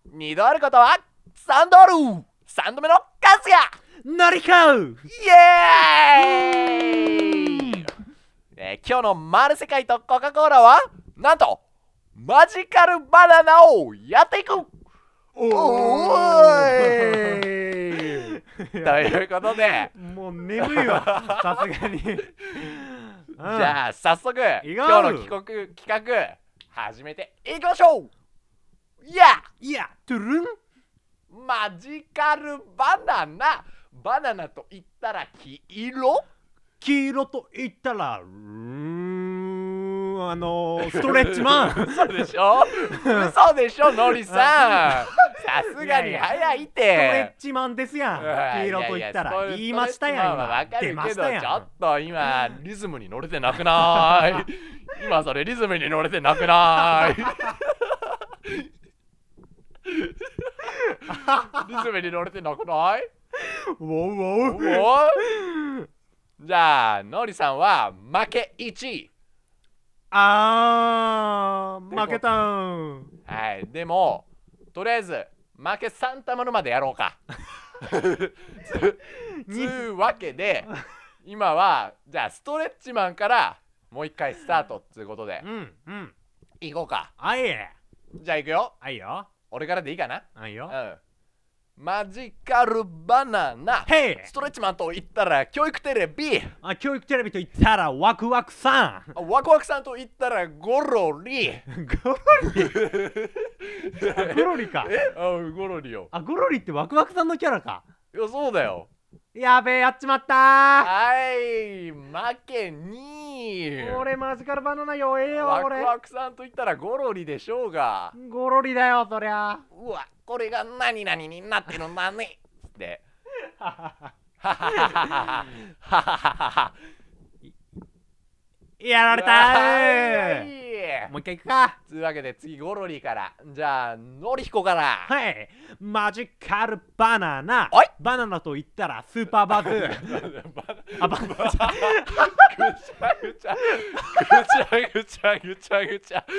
2度あることは3度ある。3度目の数やのりこイエーイ、今日の丸世界とコカ・コーラはなんとマジカルバナナをやっていく。おーいということでもう眠いわさすがにじゃあ早速今日の企画始めていきましょう。いやトゥルンマジカルバナナ。バナナと言ったら黄色と言ったらストレッチマン嘘でしょ嘘でしょノリさんさすがに早いって。 ストレッチマンですやん。黄色と言ったら言いましたやん。 わかるけどち出ましたやん。 ょっと今リズムに乗れてなくない今それリズムに乗れてなくないリズムに乗れてなくないウォウウォウおじゃあノリさんは負け1。 負けたん。 はい、でもとりあえず負け3玉までやろうかつうわけで今はじゃあストレッチマンからもう一回スタートっつうことでいこうか。 あいえじゃあいくよ。 あいよ俺からでいいかな。 あいよマジカルバナナ。 へいストレッチマンと言ったら教育テレビ。 教育テレビと言ったらワクワクさん。 ワクワクさんと言ったらゴロリ。 ゴロリか。 ゴロリよ。 ゴロリってワクワクさんのキャラか。 いやそうだよ。 やべえやっちまったはい負け2。 俺マジカルバナナ弱えよ。 ワクワクさんと言ったらゴロリでしょうが。 ゴロリだよそりゃ。 うわこれが何々になってるんだねってやられたー。もう一回いくか。 というわけで次ゴロリから。じゃあのりひこから。 はいマジカルバナナ。 おいバナナと言ったらスーパーバズぐちゃぐちゃ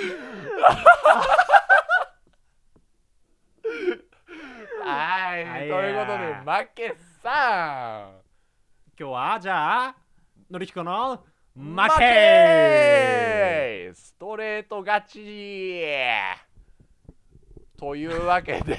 はい、ということで負けさん。 今日はじゃあのりひこの負負けストレート勝ちというわけで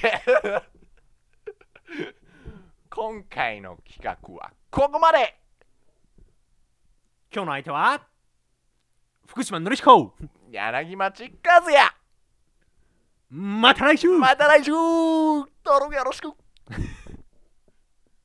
今回の企画はここまで。 今日の相手は福島のりひこ柳町和也。 また来週また来週。登録よろしく。